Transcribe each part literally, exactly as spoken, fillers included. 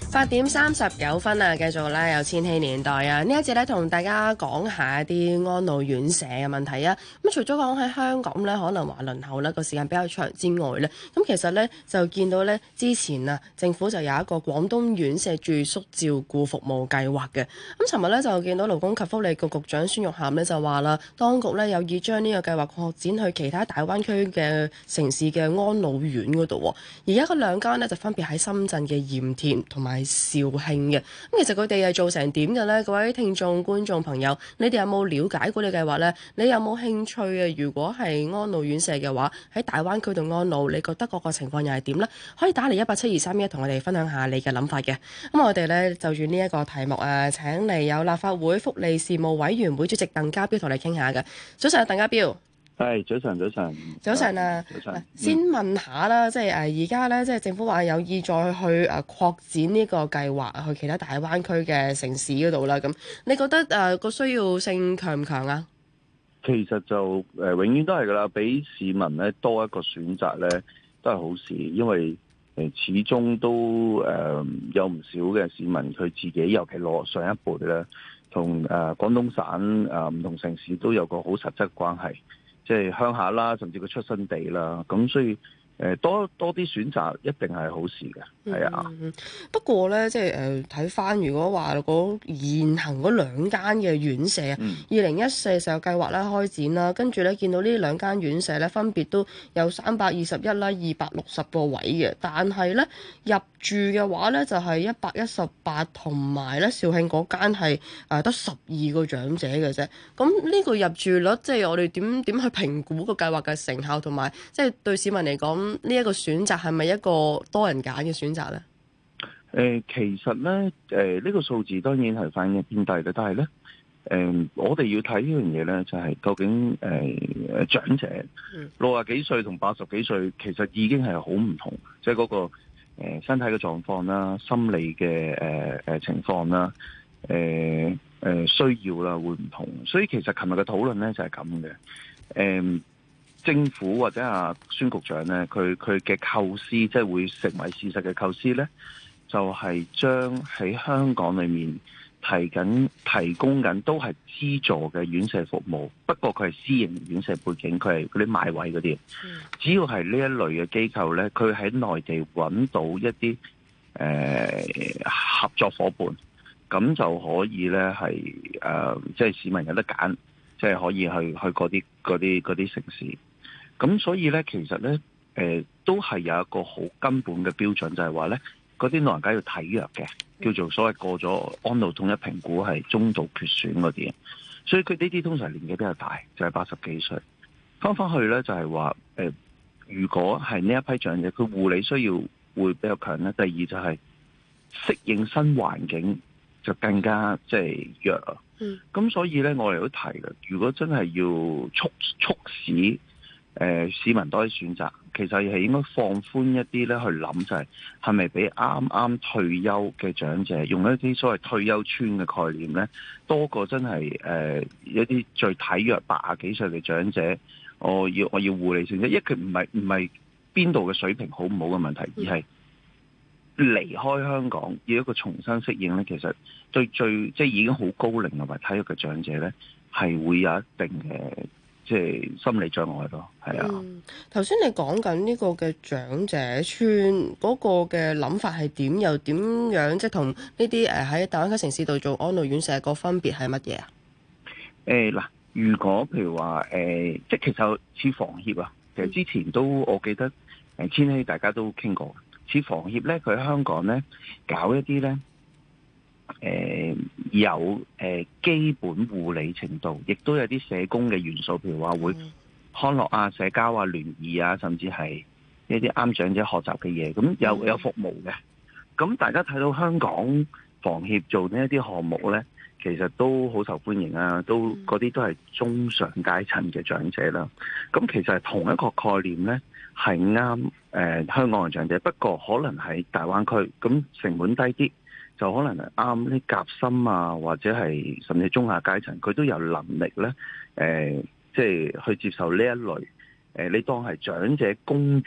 八點三十九分啊，繼續咧有千禧年代啊！呢一節咧同大家講下一啲安老院舍嘅問題啊。咁除咗講喺香港咧，可能話輪候咧個時間比較長之外咧，咁其實咧就見到咧之前啊，政府就有一個廣東院舍住宿照顧服務計劃嘅。咁尋日咧就見到勞工及福利局局長孫玉菡咧就話啦，當局咧有意將呢個計劃擴展去其他大灣區嘅城市嘅安老院嗰度。而家嗰兩間咧就分別喺深圳嘅鹽田同埋肇慶嘅。咁其實佢哋係做成點嘅呢？各位聽眾觀眾朋友，你哋有冇了解過呢個計劃呢？你有冇興趣啊？如果係安老院舍嘅話，喺大灣區度安老，你覺得嗰個情況又係點呢？可以打嚟一八七二三一同我哋分享下你嘅諗法嘅。咁我哋呢，就住呢一個題目啊，請嚟有立法會福利事務委員會主席鄧家彪同你傾下嘅。早晨，鄧家彪。 係早晨，早晨， 早晨啊！ 早晨， 先問下啦，即係誒而家咧，即係政府話有意再去誒擴展呢個計劃去其他大灣區嘅城市嗰度啦。咁你覺得誒個需要性強唔強啊？ 其實就誒、呃、永遠都係噶啦，俾市民咧多一個選擇咧，都係好事，因為誒、呃、始終都誒、呃、有唔少嘅市民佢自己，尤其攞上一輩咧，同誒、呃、廣東省誒唔、呃、同城市都有個好實質關係。即係鄉下啦，甚至佢出生地啦，咁所以誒多多啲選擇一定係好事嘅，係啊、 嗯。不過咧，即係誒睇翻，如果話嗰現行嗰兩間嘅院舍啊，二零一四就有計劃咧開展啦，跟住咧見到呢兩間院舍咧分別都有三百二十一啦、二百六十個位嘅，但係咧入住嘅話咧就係一百一十八，同埋咧肇慶嗰間係誒得十二個長者嘅啫。咁呢個入住率，即係我哋點點去評估個計劃嘅成效，同埋即係對市民嚟講呢一個選擇係咪一個多人揀嘅選擇咧？ 誒、呃，其實咧，誒、呃、呢、這個數字當然係反映偏低嘅，但係咧，誒、呃、我哋要睇呢樣嘢咧，就係、是、究竟誒誒、呃、長者六十幾歲同八十幾歲，其實已經係好唔同，即係嗰個誒、呃、身體嘅狀況啦、心理嘅誒誒情況啦、誒、呃、誒、呃、需要啦會唔同，所以其實琴日嘅討論咧就係咁嘅，誒、呃。政府或者阿孫局長咧，佢佢嘅構思，即係會成為事實嘅構思咧，就係將喺香港裏面提緊提供緊都係資助嘅院舍服務，不過佢係私營院舍背景，佢係嗰啲買位嗰啲。只要係呢一類嘅機構咧，佢喺內地揾到一啲誒、呃、合作伙伴，咁就可以咧係誒，即係市民有得揀，即係可以去去嗰啲嗰啲嗰啲城市。咁所以咧，其實咧，誒、呃、都係有一個好根本嘅標準，就係話咧，嗰啲老人家要體弱嘅，叫做所謂過咗安老統一評估係中度缺損嗰啲，所以佢呢啲通常年紀比較大，就係八十幾歲。翻返去咧，就係話誒，如果係呢一批長者，佢護理需要會比較強咧。第二就係適應新環境就更加即係弱啊。咁、嗯、所以咧，我哋都提嘅，如果真係要促促使誒、呃、市民多啲選擇，其實係應該放寬一啲咧，去諗就係係咪俾啱啱退休嘅長者用一啲所謂退休村嘅概念咧，多過真係誒、呃、一啲最體弱八十幾歲嘅長者，我要我要護理性質，因為佢唔係唔係邊度嘅水平好唔好嘅問題，而係離開香港要一個重新適應咧，其實對最即係已經好高齡同埋體弱嘅長者咧，係會有一定嘅。即係心理障礙咯，係啊。嗯， 頭先你講緊呢個嘅長者村嗰個嘅諗法係點？又點樣即係同呢啲誒喺大灣區城市度做安老院舍個分別係乜嘢啊？ 誒嗱、呃，如果譬如話誒、呃，即係其實似房協啊，其實之前都我記得誒千禧大家都傾過，似房協咧，佢喺香港咧搞一啲咧。誒、呃，有誒、呃、基本護理程度，亦都有啲社工嘅元素，譬如話會康樂啊、社交啊、聯誼啊，甚至係一啲啱長者學習嘅嘢，咁有有服務嘅。咁大家睇到香港房協做呢一啲項目咧，其實都好受歡迎啊，都嗰啲都係中上階層嘅長者啦。咁其實係同一個概念咧，係啱誒香港嘅長者，不過可能喺大灣區，咁成本低啲。就可能係啱啲夾心啊，或者係甚至中下階層，佢都有能力咧，誒、呃，即係去接受呢一類誒、呃，你當係長者公寓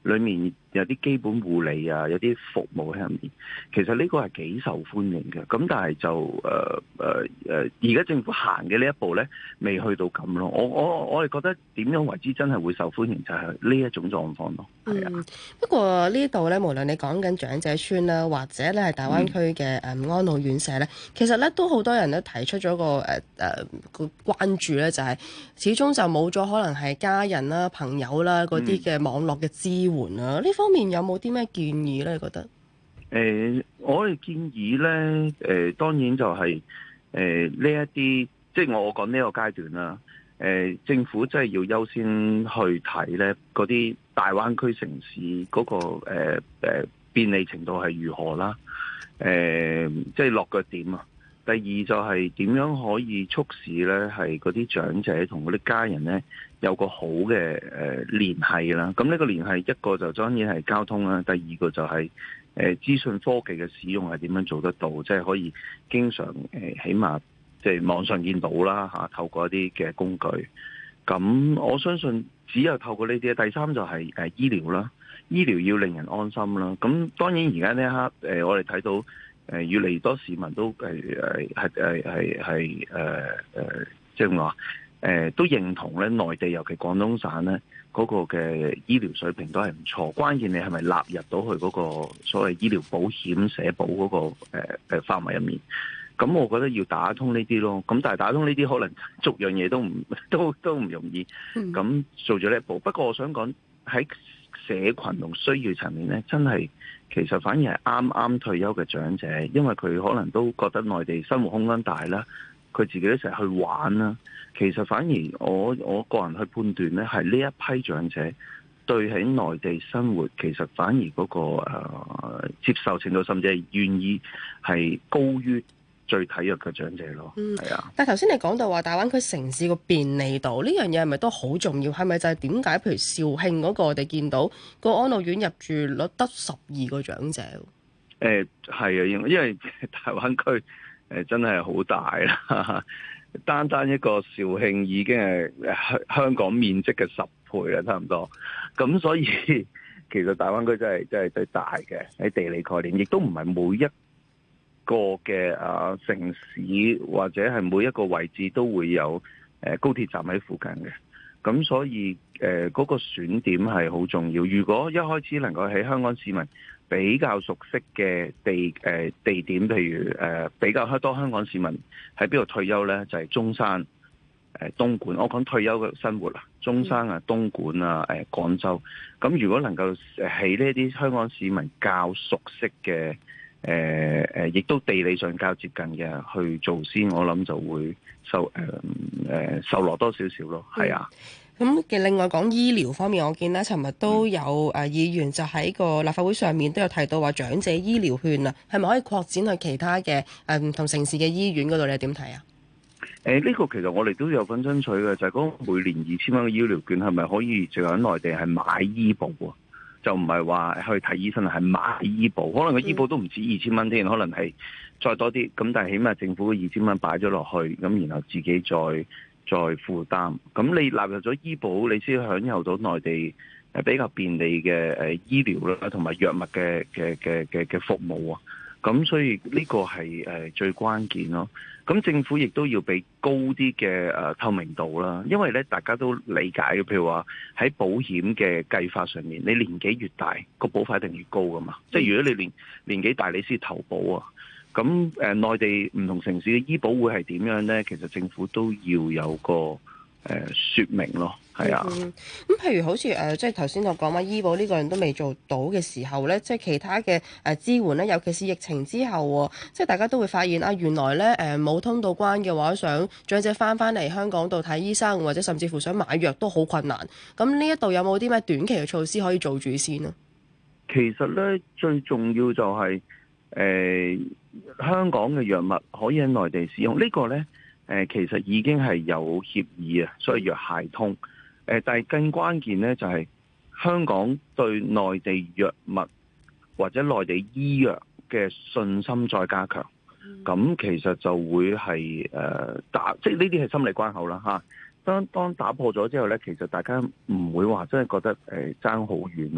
裏面有啲基本護理啊，有啲服務喺入面，其實呢個係幾受歡迎嘅。咁但係就誒誒誒，而、呃、家、呃、政府行嘅呢一步咧，未去到咁咯。我我我哋覺得點樣為之真係會受歡迎，就係呢一種狀況咯。係啊、 嗯，不過呢度咧，無論你講緊長者村啦，或者咧係大灣區嘅誒安老院舍咧，其實咧都好多人咧提出咗個誒誒個關注咧，就係始終就冇咗可能係家人啦、朋友啦嗰啲嘅網絡嘅支援啊。呢、嗯、方面有冇啲咩建議咧？你覺得？誒、 呃，我哋建議咧，誒、呃，當然就係誒呢一啲，即係我講呢個階段啦。誒、呃，政府真係要優先去睇咧嗰啲大灣區城市嗰、那個誒誒、呃呃、便利程度係如何啦。誒、呃，即係落腳點啊。第二就係點樣可以促使咧係嗰啲長者同嗰啲家人咧有個好嘅誒聯繫啦。咁呢個聯繫一個就當然係交通啦，第二個就係、是。誒資訊科技嘅使用係點樣做得到？即係可以經常誒，起碼即係網上見到啦嚇，透過一啲嘅工具。咁我相信只有透過呢啲。第三就係誒醫療啦，醫療要令人安心啦。咁當然而家呢一刻誒，我哋睇到誒越嚟越多市民都誒誒係誒係係誒誒，即係話誒都認同咧，內地尤其廣東省咧。嗰個嘅醫療水平都係唔錯，關鍵你係咪納入到去嗰個所謂醫療保險社保嗰、那個誒誒、呃、範圍入面？咁我覺得要打通呢啲咯。咁但係打通呢啲可能逐樣嘢都唔都都唔容易。咁做咗呢一步。不過我想講喺社群同需要層面咧，真係其實反而係啱啱退休嘅長者，因為佢可能都覺得內地生活空間大啦。佢自己都成日去玩啦，其實反而我我個人去判斷咧，係呢一批長者對喺內地生活，其實反而嗰、那個、呃、接受程度，甚至係願意係高於最體弱嘅長者咯。嗯，係啊。 但係頭先你講到話大灣區城市個便利度呢樣嘢係咪都好重要？係咪就係點解譬如肇慶嗰個我哋見到個安老院入住率得十二個長者？ 誒係啊，因為因為大灣區。誒真係好大啦！單單一個肇慶已經係香港面積嘅十倍啦，差唔多。咁所以其實大灣區真係真係最大嘅喺地理概念，亦都唔係每一個嘅啊城市或者係每一個位置都會有誒高鐵站喺附近嘅。咁所以誒嗰個選點係好重要。如果一開始能夠喺香港市民比較熟悉嘅地誒、呃、地點，譬如誒、呃、比較多香港市民喺邊度退休呢？就係、是、中山、誒、呃、東莞。我講退休嘅生活啦，中山啊、東莞啊、誒、呃、廣州。咁如果能夠喺呢啲香港市民較熟悉嘅誒誒，亦、呃、都地理上較接近嘅去做先，我諗就會受誒誒、呃、受落多少少咯。係啊。 咁嘅另外講醫療方面，我見咧，尋日都有誒議員就喺個立法會上面都有提到話長者醫療券啊，係咪可以擴展去其他嘅誒唔同城市嘅醫院嗰度？你點睇啊？ 誒、呃，呢、這個其實我哋都有份爭取嘅，就係、是、嗰每年二千蚊嘅醫療券係咪可以淨喺內地係買醫保啊？就唔係話去睇醫生，係買醫保。可能個醫保都唔止二千蚊添，可能係再多啲。咁但係起碼政府二千蚊擺咗落去，咁然後自己再。再負擔，咁你納入咗醫保，你先享有到內地誒比較便利嘅誒醫療啦，同埋藥物嘅嘅嘅嘅嘅服務啊。咁所以呢個係誒最關鍵咯。咁政府亦都要俾高啲嘅誒透明度啦，因為咧大家都理解嘅，譬如話喺保險嘅計法上面，你年紀越大，個保費一定越高噶嘛。即係如果你年年紀大，你先投保啊。咁誒，內地唔同城市嘅醫保會係點樣咧？其實政府都要有個誒説明咯，係啊。咁、 嗯、譬如好似誒，即係頭先我講話醫保呢個人都未做到嘅時候咧，即係其他嘅誒支援咧，尤其是疫情之後，即係大家都會發現啊，原來咧誒冇通到關嘅話，想長者翻翻嚟香港度睇醫生，或者甚至乎想買藥都好困難。咁呢一度有冇啲咩短期嘅措施可以做住先啊？ 其實咧，最重要就係、是。誒、呃、香港嘅藥物可以喺內地使用，這個、呢個咧誒其實已經係有協議啊，所以藥械通。誒、呃，但係更關鍵咧就係、是、香港對內地藥物或者內地醫藥嘅信心再加強。咁、嗯、其實就會係誒、呃、打，即係呢啲係心理關口啦嚇。當當打破咗之後咧，其實大家唔會話真係覺得誒爭好遠咯。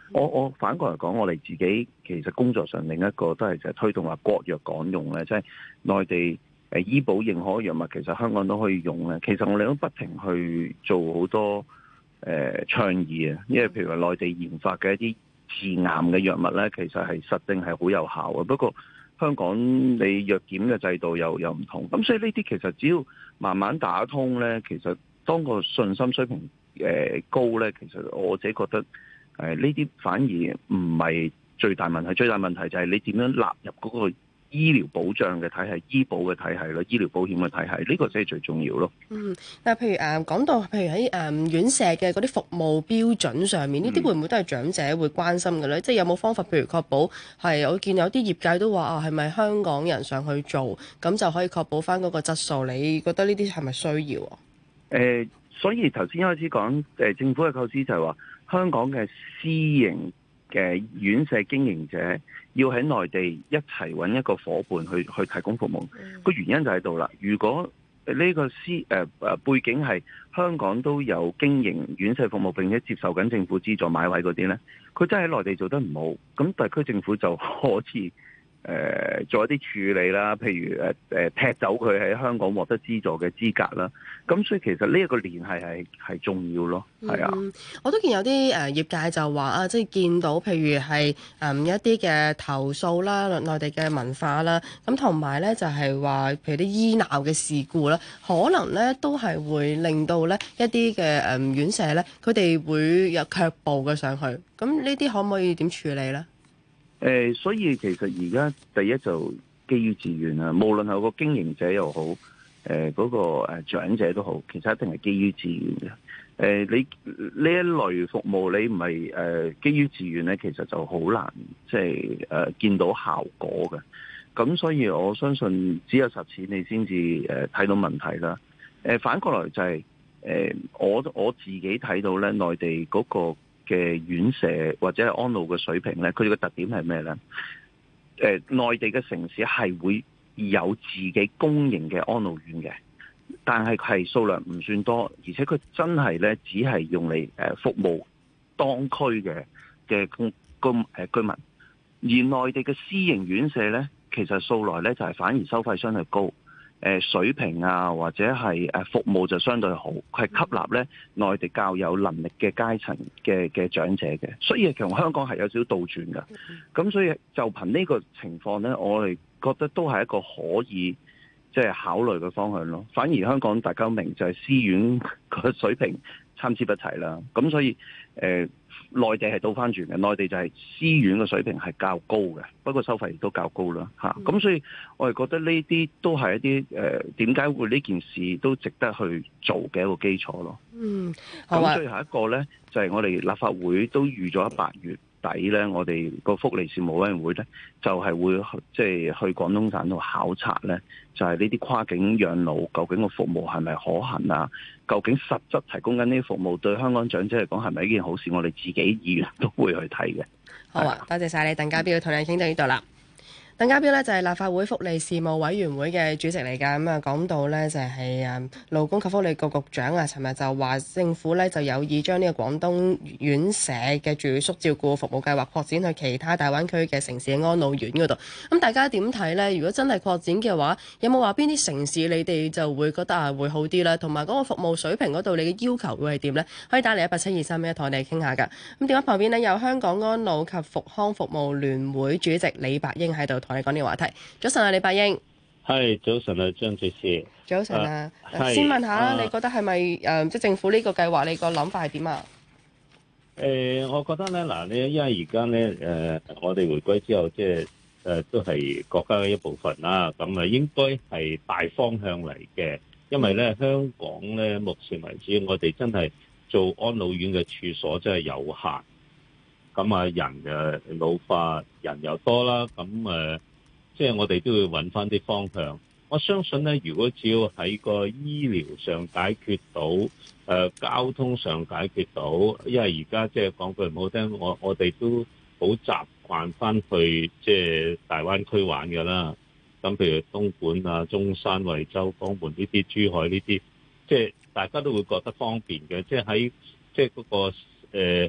我我反過嚟講，我哋自己其實工作上另一個都係就係推動話國藥港用咧，即係內地誒醫保認可藥物，其實香港都可以用咧。其實我哋都不停去做好多誒、呃、倡議啊，因為譬如話內地研發嘅一啲治癌嘅藥物咧，其實係實定係好有效嘅。不過香港你藥檢嘅制度又又唔同，咁所以呢啲其實只要慢慢打通咧，其實當個信心水平誒、呃、高咧，其實我自己覺得。誒呢啲反而唔係最大問題，最大問題就係你點樣納入嗰個醫療保障嘅體系、醫保嘅體系咯、醫療保險嘅體系，呢個先係最重要咯。 嗯，但係譬如誒講到譬如喺誒院舍嘅嗰啲服務標準上面，呢啲會唔會都係長者會關心嘅咧？嗯、即係有冇方法，譬如確保係我見有啲業界都話啊，係咪香港人上去做，咁就可以確保翻嗰個質素？你覺得呢啲係咪需要啊？ 誒、呃，所以頭先一開始講誒、呃、政府嘅構思就係話。香港嘅私營嘅院舍經營者要喺內地一齊揾一個伙伴去去提供服務，個、嗯、原因就喺度啦。如果呢個私誒誒、呃、背景係香港都有經營院舍服務並且接受緊政府資助買位嗰啲呢，佢真係喺內地做得唔好，咁特區政府就可以。誒、呃、做一啲處理啦，譬如誒誒、呃、踢走佢喺香港獲得資助嘅資格啦，咁所以其實呢一個聯繫係係重要咯，係啊、 嗯，我都見有啲誒、呃、業界就話啊，即係見到譬如係誒、嗯、一啲嘅投訴啦，內地嘅文化啦，咁同埋咧就係、是、話，譬如啲醫鬧嘅事故啦，可能咧都係會令到咧一啲嘅誒院舍咧，佢哋會有卻步嘅上去，咁呢啲可唔可以點處理咧？ 誒、呃，所以其實而家第一就基於自願啦，無論係個經營者又好，誒、呃、嗰、那個誒長者都好，其實一定係基於自願嘅。誒、呃，你呢一類服務你唔係誒基於自願咧，其實就好難即係誒見到效果嘅。咁所以我相信只有實踐你先至誒睇到問題啦。誒、呃，反過來就係、是、誒、呃、我我自己睇到咧，內地嗰、那個。嘅院舍或者係安老嘅水平咧，佢哋嘅特點係咩咧？誒、呃，內地嘅城市係會有自己公營嘅安老院嘅，但係係數量唔算多，而且佢真係咧只係用嚟誒服務當區嘅嘅公公誒居民，而內地嘅私營院舍咧，其實素來咧就係反而收費相對高。誒水平啊，或者係誒服務就相對好，佢係吸納咧內地較有能力嘅階層嘅嘅長者嘅，所以其實香港係有少少倒轉㗎。咁所以就憑呢個情況咧，我哋覺得都係一個可以即係考慮嘅方向咯。反而香港大家都明就係私院個水平參差不齊啦。咁所以誒。呃內地係倒翻轉嘅，內地就係私院嘅水平係較高嘅，不過收費亦都較高啦嚇。咁、嗯、所以我哋覺得呢啲都係一啲誒點解會呢件事都值得去做嘅一個基礎咯。嗯，好啊。咁最後一個咧就係、是、我哋立法會都預咗八月底咧，我哋個福利事務委員會咧就係、是、會即係去廣東省度考察咧，就係呢啲跨境養老究竟個服務係咪可行啊？究竟實質提供緊呢啲服務對香港長者嚟講係咪一件好事？我哋自己議員都會去睇嘅。 好啊，多謝晒你，鄧家彪，同你傾到呢度啦。鄧家彪呢就係立法會福利事務委員會嘅主席嚟㗎，咁啊講到呢就係誒勞工及福利局局長啊，尋日就話政府呢就有意將呢個廣東院舍嘅住宿照顧服務計劃擴展去其他大灣區嘅城市嘅安老院嗰度。咁大家點睇呢？如果真係擴展嘅話，有冇話邊啲城市你哋就會覺得啊會好啲啦？同埋嗰個服務水平嗰度，你嘅要求會係點呢？可以打嚟一八七二三一同我哋傾下㗎。咁電話旁邊呢，有香港安老及復康服務聯會主席李百英喺度。我哋講呢個話題。早晨啊，李百英。 係早晨啊，張女士。 早晨啊，啊先問下啦，啊、你覺得係咪誒，即係政府呢個計劃，你個諗法係點啊？ 誒、呃，我覺得咧，嗱，你因為而家咧，誒、呃，我哋回歸之後，即係誒，都係國家嘅一部分啦。咁啊，應該係大方向嚟嘅。因為咧，香港咧，目前為止，我哋真係做安老院嘅處所真係有限。咁啊，人誒老化，人又多啦，咁誒，即係我哋都要揾翻啲方向。我相信咧，如果只要喺個醫療上解決到，誒交通上解決到，因為而家即係講句唔好聽，我我哋都好習慣翻去即係大灣區玩㗎啦。咁譬如東莞啊、中山、惠州、江門呢啲、珠海呢啲，即係大家都會覺得方便嘅。即係喺即係嗰個誒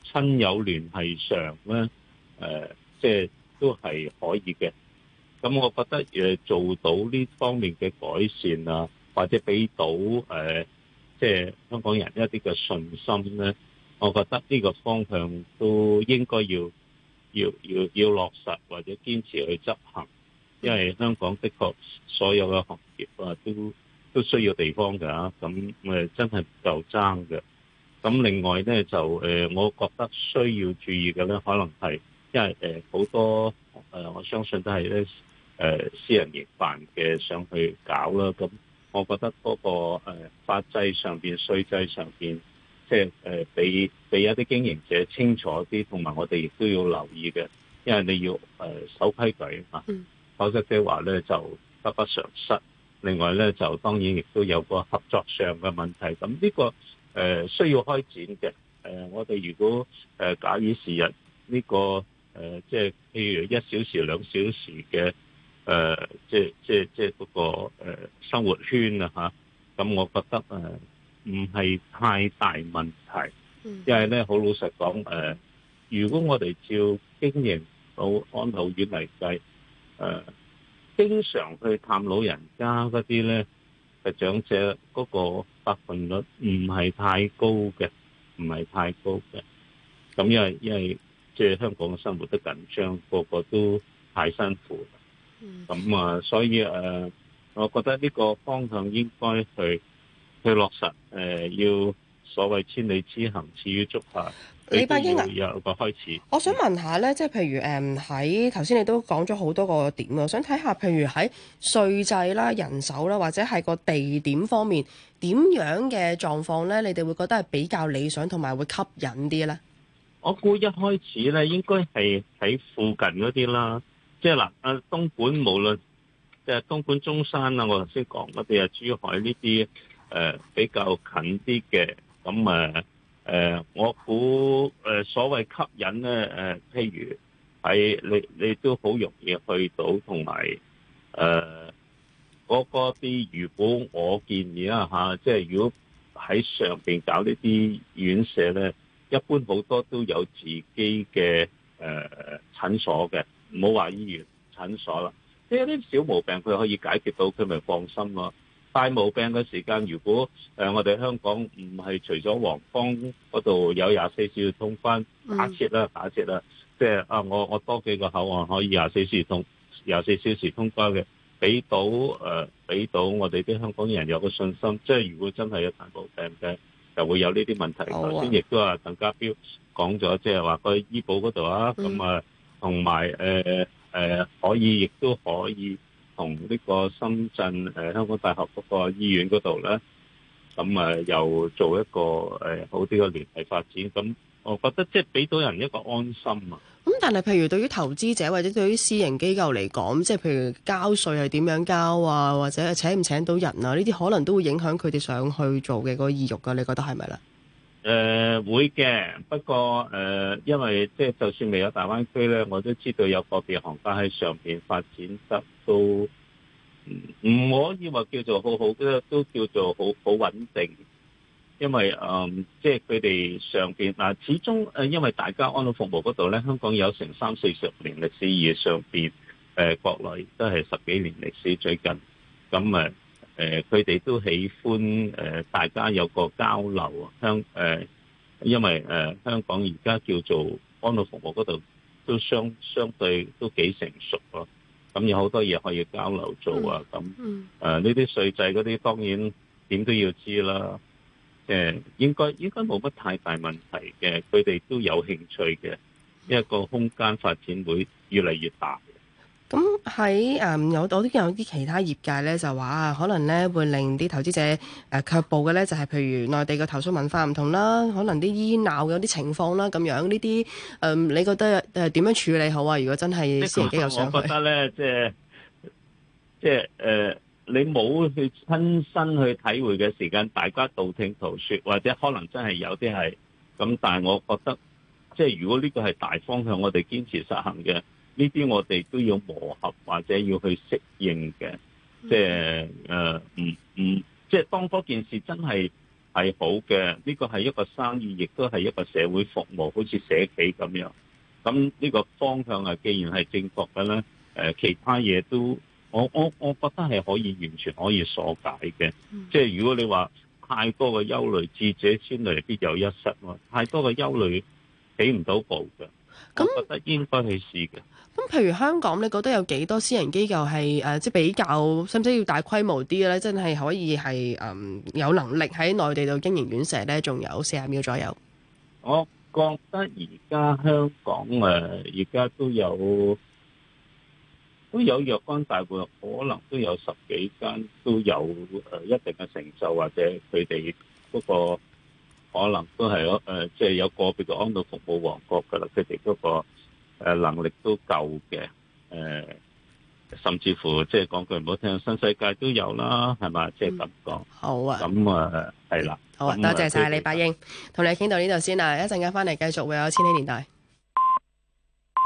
親友聯繫上咧，誒、呃，即係都係可以嘅。咁我覺得誒做到呢方面嘅改善啊，或者俾到誒、呃，即係香港人一啲嘅信心咧，我覺得呢個方向都應該要要要要落實或者堅持去執行，因為香港的確所有嘅行業啊都都需要地方㗎，咁誒真係唔夠爭嘅。咁另外咧就誒、呃，我覺得需要注意嘅咧，可能係因為誒好、呃、多誒、呃，我相信都係咧誒私人營辦嘅上去搞啦。咁我覺得嗰、那個誒、呃、法制上邊、稅制上邊，即係誒俾俾一啲經營者清楚啲，同埋我哋亦都要留意嘅，因為你要誒、呃、守規矩啊，否則嘅話咧就得不償失。另外咧就當然亦都有個合作上嘅問題，咁呢、這個。誒、呃、需要開展嘅，誒、呃、我哋如果誒、呃、假以時日呢、這個誒、呃、即係譬如一小時兩小時嘅誒、呃、即係即係即係嗰個、呃、生活圈啊嚇，咁我覺得誒唔係太大問題，因為咧好老實講誒、呃，如果我哋照經營到安老院嚟計，誒、呃、經常去探老人家嗰啲咧。嘅長者嗰個百分率唔係太高嘅，唔係太高嘅。咁因為因為即係香港嘅生活都緊張，個個都太辛苦。咁啊，所以誒，我覺得呢個方向應該去去落實。誒，要所謂千里之行，始於足下。 李伯英啊， 有個開始。 我想問下咧，即係譬如誒喺頭先你都講咗好多個點啊，我想睇下譬如喺稅制啦、人手啦，或者係個地點方面點樣嘅狀況咧，你哋會覺得係比較理想同埋會吸引啲咧？ 我估一開始咧，應該係喺附近嗰啲啦，即係嗱，啊東莞無論即係東莞中山啊，我頭先講嗰啲啊，珠海呢啲誒比較近啲嘅，咁誒。誒、呃，我估誒、呃、所謂吸引咧，誒、呃，譬如喺你你都好容易去到，同埋誒嗰啲，如果我建議啦嚇、啊，即係如果喺上邊搞呢啲院舍咧，一般好多都有自己嘅誒、呃、診所嘅，唔好話醫院診所啦，即係啲小毛病佢可以解決到，佢咪放心咯。大毛病嘅時間，如果誒、呃、我哋香港唔係除咗皇崗嗰度有廿四小時通關，假設啦，假設啦，即係啊，我我多幾個口岸可以廿四小時通廿四小時通關嘅，俾到誒俾到我哋啲香港人有個信心。即係如果真係有大毛病嘅，就會有呢啲問題。頭先亦都話鄧家彪講咗，即係話個醫保嗰度啊，咁啊同埋誒誒可以，亦都可以。同呢個深圳誒、呃、香港大學嗰個醫院嗰度咧，咁啊又做一個誒、呃、好啲嘅聯繫發展，咁我覺得即係俾到人一個安心啊。 咁但係譬如對於投資者或者對於私營機構嚟講，即係譬如交稅係點樣交啊，或者請唔請到人啊，呢啲可能都會影響佢哋想去做嘅嗰個意欲㗎。你覺得係咪咧？ 誒、呃、會嘅，不過誒、呃，因為即係就算未有大灣區咧，我都知道有個別行家喺上邊發展得都唔可以話叫做好好嘅，都叫做好好穩定。因為誒、呃，即係佢哋上邊嗱，始終誒，因為大家安老服務嗰度咧，香港有成三四十年歷史，而上邊誒、呃、國內都係十幾年歷史，最近咁誒。誒佢哋都喜歡誒、呃、大家有個交流啊，香誒、呃，因為誒、呃、香港而家叫做安老服務嗰度都相相對都幾成熟咯，咁有好多嘢可以交流做啊，咁誒呢啲稅制嗰啲當然點都要知啦，誒、呃、應該應該冇乜太大問題嘅，佢哋都有興趣嘅，因為個空間發展會越嚟越大。 咁喺誒有我都有啲其他業界咧，就話啊，可能咧會令啲投資者誒、呃、卻步嘅咧，就係、是、譬如內地嘅投訴文化唔同啦，可能啲醫鬧有啲情況啦，咁樣呢啲誒，你覺得誒點樣處理好啊？如果真係私人機構上去， 我覺得咧，即係即係誒，你冇去親身去體會嘅時間，大家道聽途說，或者可能真係有啲係咁，但係我覺得即係如果呢個係大方向，我哋堅持實行嘅。呢啲我哋都要磨合或者要去適應嘅，即係誒唔唔，即係當嗰件事真係係好嘅，呢個係一個生意，亦都係一個社會服務，好似社企咁樣。咁呢個方向啊，既然係正確嘅咧，誒其他嘢都，我我我覺得係可以完全可以疏解嘅。 嗯、即係如果你話太多嘅憂慮，智者千慮必有一失喎。太多嘅憂慮起唔到步嘅， 咁我覺得應該去試嘅。 咁譬如香港，你覺得有幾多私人機構係誒、呃，即係比較，使唔使要大規模啲咧？真係可以係誒、嗯、有能力喺內地度經營院舍咧？仲有四十秒左右。 我覺得而家香港誒，而家都有都有若干大戶，可能都有十幾間都有誒一定嘅成就，或者佢哋嗰個可能都係誒，即、呃、係、就是、有個別嘅安老服務王國㗎啦，佢哋嗰個。誒能力都夠嘅，誒、呃、甚至乎即係講句唔好聽，新世界都有啦，係嘛？即係咁講。 好啊。 咁啊，係啦。 好啊，多謝晒李伯英，同你傾到呢度先啦，一陣間翻嚟繼續會有千禧年代。